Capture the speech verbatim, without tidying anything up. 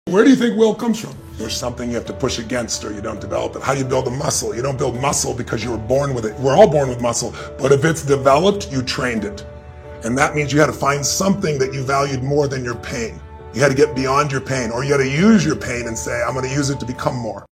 Where do you think will comes from? There's something you have to push against or you don't develop it. How do you build a muscle? You don't build muscle because you were born with it. We're all born with muscle, but if it's developed, you trained it. And that means you had to find something that you valued more than your pain. You had to get beyond your pain, or you had to use your pain and say, I'm going to use it to become more.